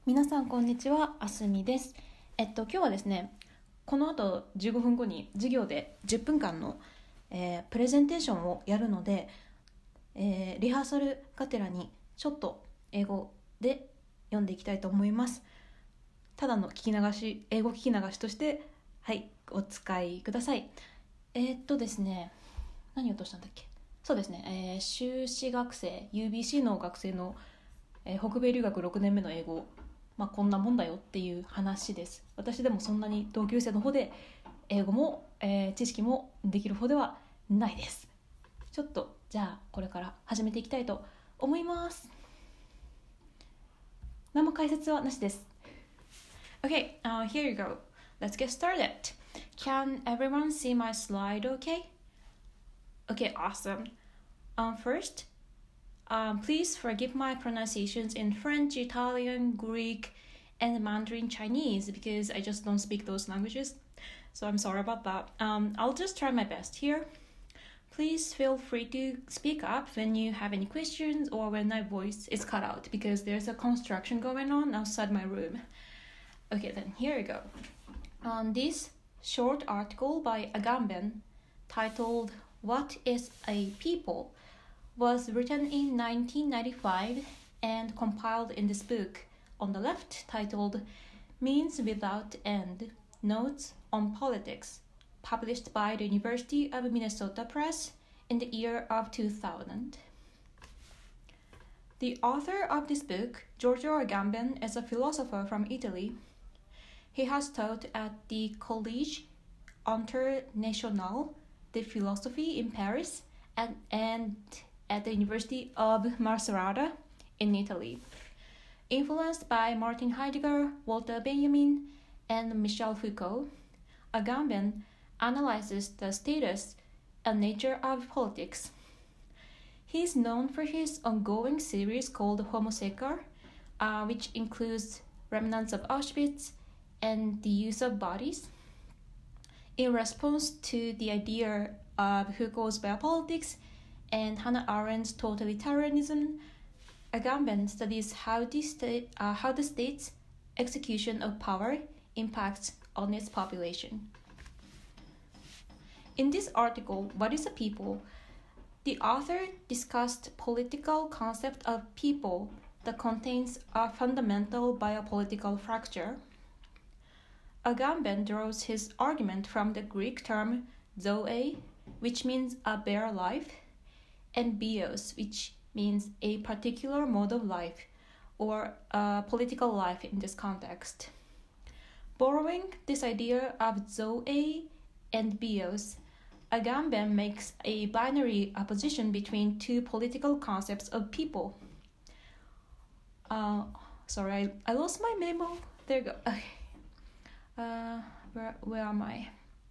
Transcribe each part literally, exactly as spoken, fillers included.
皆さんこんにちは、あすみです。えっと今日はですね、この後じゅうごふんごに授業でじゅっぷんかんの、えープレゼンテーションをやるので、えーリハーサルがてらにちょっと英語で読んでいきたいと思います。ただの聞き流し、英語聞き流しとしてはいお使いください。えーっとですね、何を落としたんだっけ。そうですね、えー修士学生 ユービーシー の学生の、えー北米留学ろくねんめの英語、まあ、こんなもんだよっていう話です。私でもそんなに同級生の方で英語も、えー知識もできる方ではないです。ちょっとじゃあこれから始めていきたいと思います。何も解説はなしです。 Okay, uh, here you go. Let's get started. Can everyone see my slide okay? Okay, awesome. Um, first, um, please forgive my pronunciations in French, Italian, Greek, and Mandarin Chinese because I just don't speak those languages. So I'm sorry about that. Um, I'll just try my best here. Please feel free to speak up when you have any questions or when my voice is cut out because there's a construction going on outside my room. Okay, then here we go. On this short article by Agamben titled What is a People was written in nineteen ninety-five and compiled in this book on the left titled Means Without End Notes on Politics, published by the University of Minnesota Press in the year of two thousand. The author of this book, Giorgio Agamben, is a philosopher from Italy. He has taught at the Collège International de Philosophie in Paris and, and at the University of Macerata in Italy. Influenced by Martin Heidegger, Walter Benjamin, and Michel Foucault, Agamben analyzes the status and nature of politics. He is known for his ongoing series called Homo Sacer, uh, which includes remnants of Auschwitz and the use of bodies. In response to the idea of Foucault's biopolitics and Hannah Arendt's totalitarianism, Agamben studies how the, state, uh, how the state's execution of power impacts on its population. In this article, What is a People?, the author discussed political concept of people that contains a fundamental biopolitical fracture. Agamben draws his argument from the Greek term zoe, which means a bare life, and bios, which means a particular mode of life or a political life in this context. Borrowing this idea of zoe and bios, Agamben makes a binary opposition between two political concepts of people. Uh, sorry, I, I lost my memo. There you go. Okay. Uh, where where am I?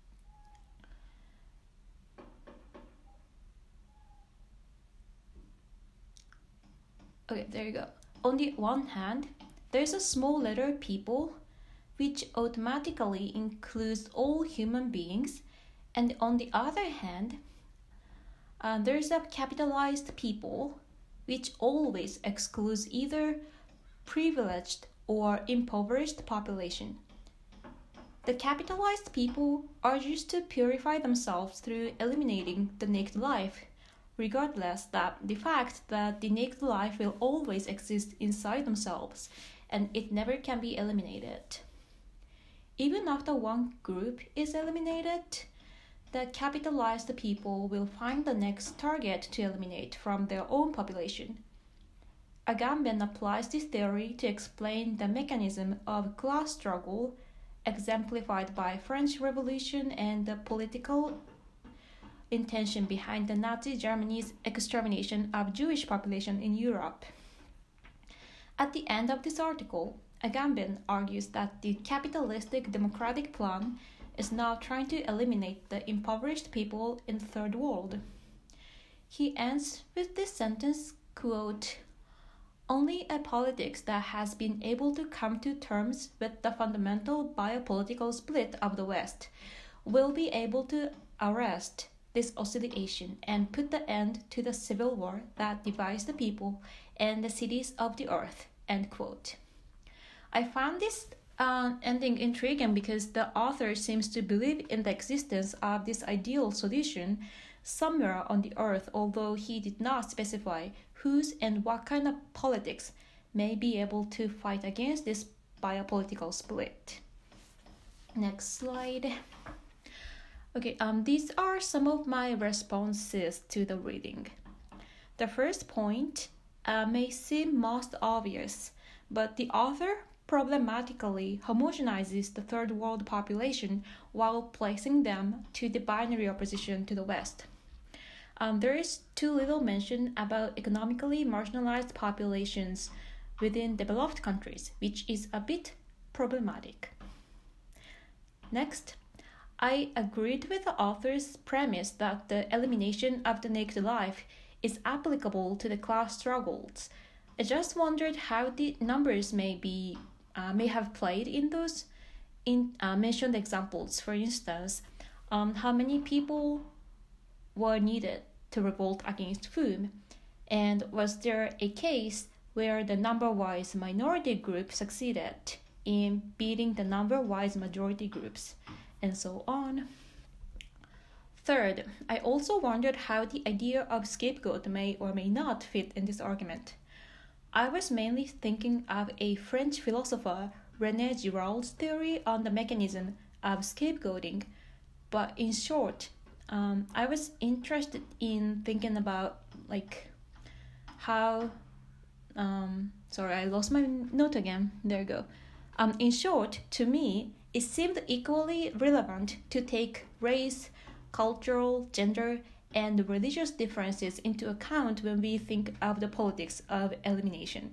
Okay, there you go. On the one hand, there's a small letter people, which automatically includes all human beings, and on the other hand, uh, there's a capitalized people, which always excludes either privileged or impoverished population. The capitalized people urges to purify themselves through eliminating the naked life, regardless that the fact that the naked life will always exist inside themselves and it never can be eliminated. Even after one group is eliminated, the capitalized people will find the next target to eliminate from their own population. Agamben applies this theory to explain the mechanism of class struggle exemplified by French Revolution and the political intention behind the Nazi Germany's extermination of Jewish population in Europe. At the end of this article, Agamben argues that the capitalistic democratic plan is now trying to eliminate the impoverished people in the third world. He ends with this sentence, quote, "Only a politics that has been able to come to terms with the fundamental biopolitical split of the West will be able to arrest this oscillation and put the end to the civil war that divides the people and the cities of the earth." End quote. I found this uh, ending intriguing because the author seems to believe in the existence of this ideal solution somewhere on the earth, although he did not specify whose and what kind of politics may be able to fight against this biopolitical split. Next slide. Okay, um, these are some of my responses to the reading. The first point uh, may seem most obvious, but the author problematically homogenizes the third world population while placing them to the binary opposition to the West. Um, there is too little mention about economically marginalized populations within developed countries, which is a bit problematic. Next, I agreed with the author's premise that the elimination of the naked life is applicable to the class struggles. I just wondered how the numbers may be uh, may have played in those in uh, mentioned examples. For instance, um, how many people were needed to revolt against food, and was there a case where the number-wise minority group succeeded in beating the number-wise majority groups, and so on. Third, I also wondered how the idea of scapegoat may or may not fit in this argument. I was mainly thinking of a French philosopher, René Girard's theory on the mechanism of scapegoating, but in short, um, I was interested in thinking about like how, um, sorry, I lost my note again, there you go. Um, in short, to me, it seemed equally relevant to take race, cultural, gender, and religious differences into account when we think of the politics of elimination.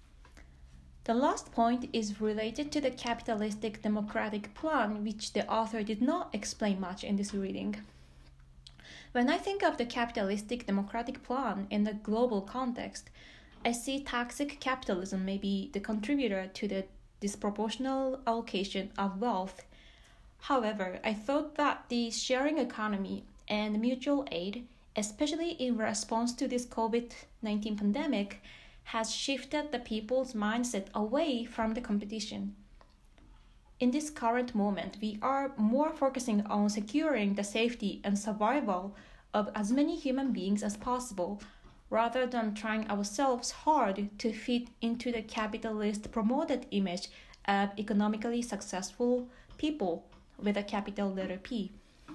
The last point is related to the capitalistic democratic plan, which the author did not explain much in this reading. When I think of the capitalistic democratic plan in the global context, I see toxic capitalism may be the contributor to the disproportional allocation of wealth. However, I thought that the sharing economy and mutual aid, especially in response to this COVID nineteen pandemic, has shifted the people's mindset away from the competition. In this current moment, we are more focusing on securing the safety and survival of as many human beings as possible, rather than trying ourselves hard to fit into the capitalist promoted image of economically successful people with a capital letter P.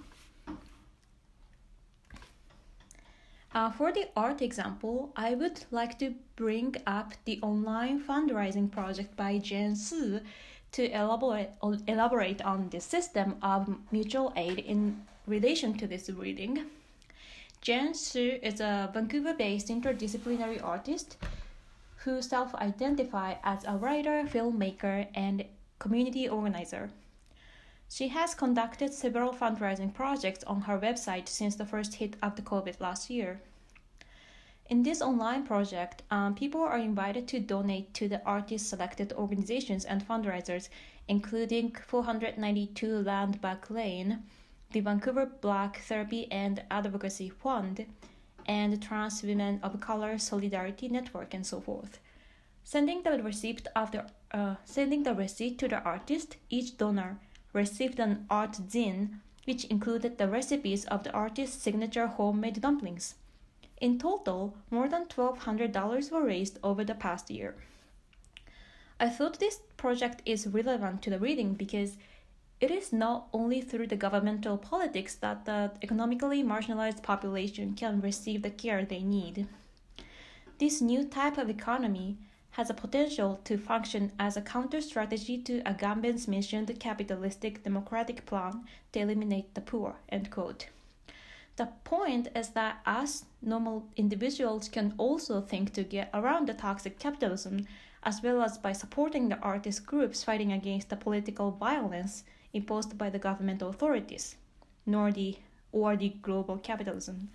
Uh, for the art example, I would like to bring up the online fundraising project by Jen Su to elaborate, elaborate on the system of mutual aid in relation to this reading. Jen Su is a Vancouver-based interdisciplinary artist who self-identifies as a writer, filmmaker, and community organizer. She has conducted several fundraising projects on her website since the first hit of the COVID last year. In this online project, um, people are invited to donate to the artist-selected organizations and fundraisers, including four hundred ninety-two Landback Lane, the Vancouver Black Therapy and Advocacy Fund, and Trans Women of Color Solidarity Network, and so forth. Sending the receipt of the uh, sending the receipt to the artist, each donor received an art zine, which included the recipes of the artist's signature homemade dumplings. In total, more than twelve hundred dollars were raised over the past year. I thought this project is relevant to the reading because it is not only through the governmental politics that the economically marginalized population can receive the care they need. This new type of economy has a potential to function as a counter-strategy to Agamben's mentioned capitalistic democratic plan to eliminate the poor, end quote. The point is that us normal individuals can also think to get around the toxic capitalism, as well as by supporting the artist groups fighting against the political violence imposed by the government authorities, nor the or the global capitalism.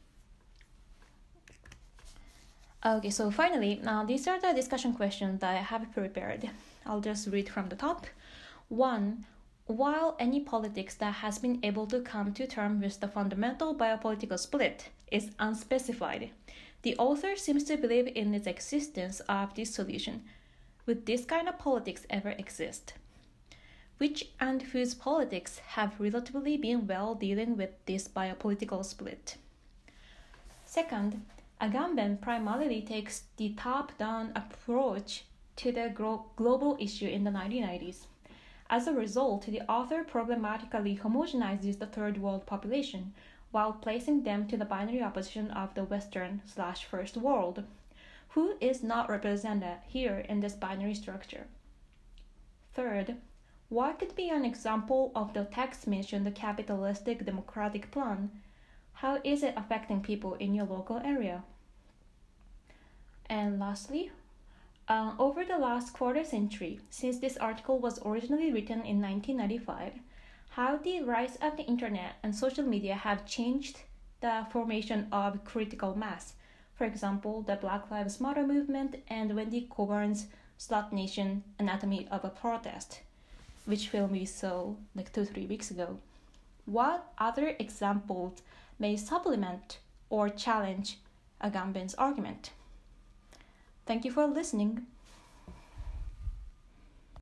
Okay, so finally, now these are the discussion questions that I have prepared. I'll just read from the top. One, while any politics that has been able to come to terms with the fundamental biopolitical split is unspecified, the author seems to believe in its existence of this solution. would this kind of politics ever exist? Which and whose politics have relatively been well dealing with this biopolitical split? Second, Agamben primarily takes the top-down approach to the gro- global issue in the nineteen nineties. As a result, the author problematically homogenizes the third world population while placing them to the binary opposition of the Western slash first world, who is not represented here in this binary structure. Third, what could be an example of the text mention the capitalistic democratic plan? How is it affecting people in your local area? And lastly, uh, over the last quarter century, since this article was originally written in nineteen ninety-five, how the rise of the internet and social media have changed the formation of critical mass. For example, the Black Lives Matter movement and Wendy Coburn's Slut Nation Anatomy of a Protest, which film we saw like two, three weeks ago. What other examples may supplement or challenge Agamben's argument? Thank you for listening.